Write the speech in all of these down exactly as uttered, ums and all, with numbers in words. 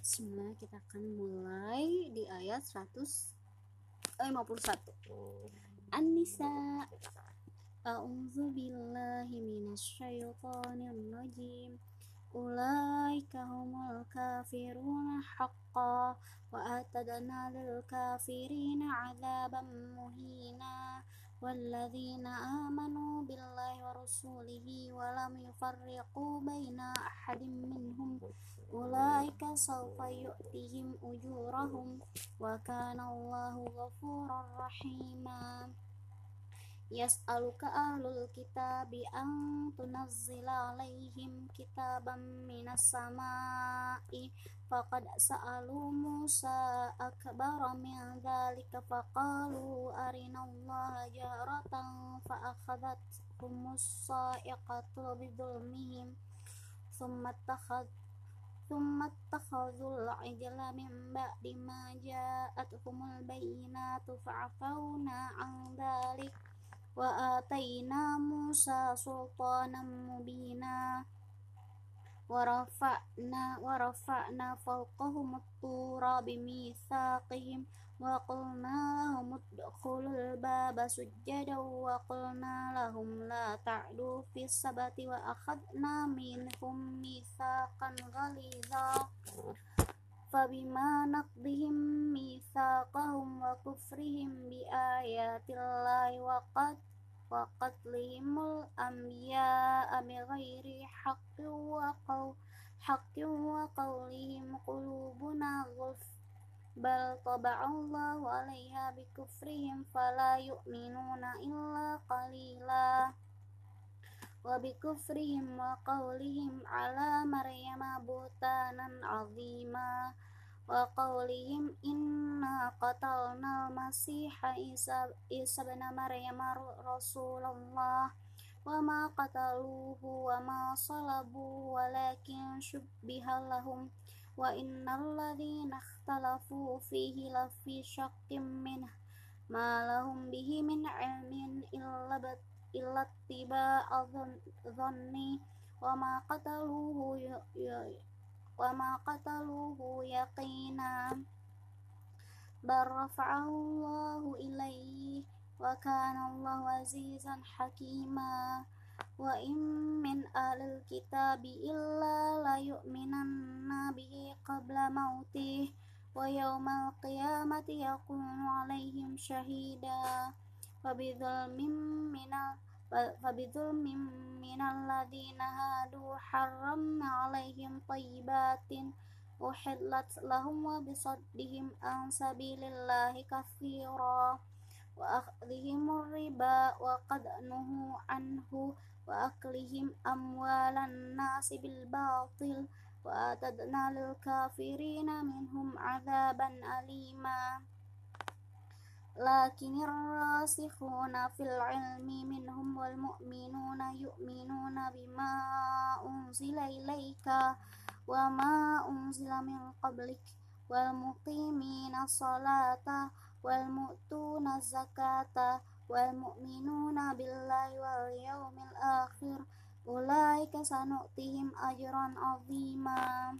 Bismillah, kita akan mulai di ayat seratus lima puluh satu. An-Nisa. A'udzu billahi minasyaitonir rajim. Ulaika humul kafiruna haqqan wa atadna lil kafirina 'adzaban muhina. والذين آمنوا بالله ورسوله ولم يفرقوا بين أحد منهم أولئك سوف يؤتيهم أجورهم وكان الله غفورا رحيما يسألك أهل الكتاب أن تنزل عليهم كتابا من السماء فقد سألوا موسى أكبر من ذلك فقالوا أرنا الله جهرة فأخذتهم الصاعقة بظلمهم ثم اتخذ ثم اتخذوا العجل من بعد ما جاءتهم البينات فعفونا عن ذلك وآتينا موسى سلطانا مبينا ورفعنا ورفعنا فوقهم الطور بميثاقهم وقلنا لهم ادخلوا الباب سجدا وقلنا لهم لا تعدوا في السبت وأخذنا منهم ميثاقا غليظا فبما نقضهم ميثاقهم وكفرهم بآيات الله وقد وقتلهم الأنبياء بغير حق وقول حق وقولهم قلوبنا غلف بل طبع الله عليها بكفرهم فلا يؤمنون إلا قليلا وبكفرهم وقولهم على مريم بهتانا عظيما وقولهم إنا قتلنا المسيح عيسى ابن مريم رسول الله وما قتلوه وما صلبوه ولكن شبه لهم وإن الذين اختلفوا فيه لفي شك منه ما لهم به من علم إلا إلا اتباع الظن وما قتلوه وما قتلوه يقينا بل رفعه الله إليه وكان الله عزيزا حكيما وإن من أهل الكتاب إلا ليؤمنن به قبل موته ويوم القيامة يكون عليهم شهيدا فبظلم من فبظلم من الذين هادوا حرمنا عليهم طيبات أحلت لهم وبصدهم عن سبيل الله كثيرا وأخذهم الربا وقد نهوا عنه وأكلهم أموال الناس بالباطل وأعتدنا للكافرين منهم عذابا أليما لكن الراسخون في العلم منهم والمؤمنون يؤمنون بما أنزل إليك وما أنزل من قبلك والمقيمين الصلاة والمؤتون الزكاة والمؤمنون بالله واليوم الآخر أولئك سنؤتيهم أجرا عظيما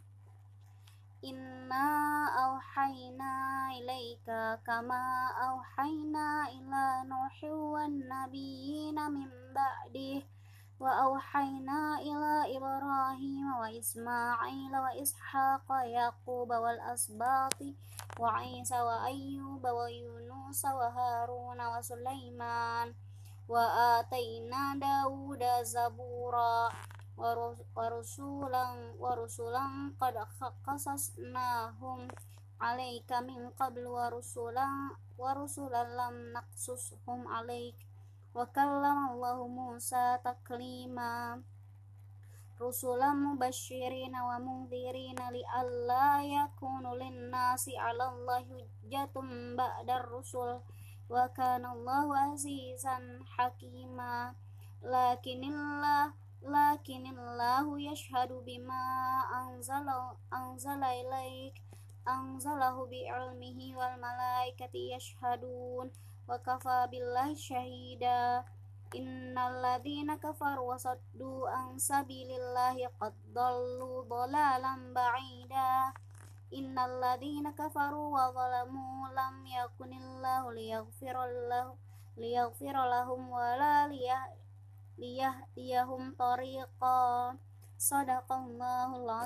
Inna auhayna ilaika kama auhayna ila Nuhi wan nabiyina min ba'dih wa auhayna ila Ibrahim wa Ismail wa Ishaq wa Yaqub wal asbati wa Isa wa Ayyub wa Yunus wa Harun wa Sulaiman wa atayna Dawuda zabura warusulan warusulan qad qasasnahum alaika min qabl warusulan warusulan lam naqsushum alaik wa kallama Allahu Musa taklima rusulan mubashshirina wa mundhirina li alla yakunu lin-nasi 'ala Allahi hujjatun ba'da ar-rusul wa kana Allahu azizan hakima lakinillah Lakinillahu yashhadu bima anzala anzala ilaik anzalahu bi'ilmihi wal malaikati yashhadun wa kafa billahi syahida innal ladzina kafaru wa saddu an sabilillahi qad dallu dhalalan ba'ida innal ladzina kafaru wa zalamu lam yakunillahu liyaghfira lahu liyaghfira lahum wa la liyahdiyahum tariqa. Sadaqallahul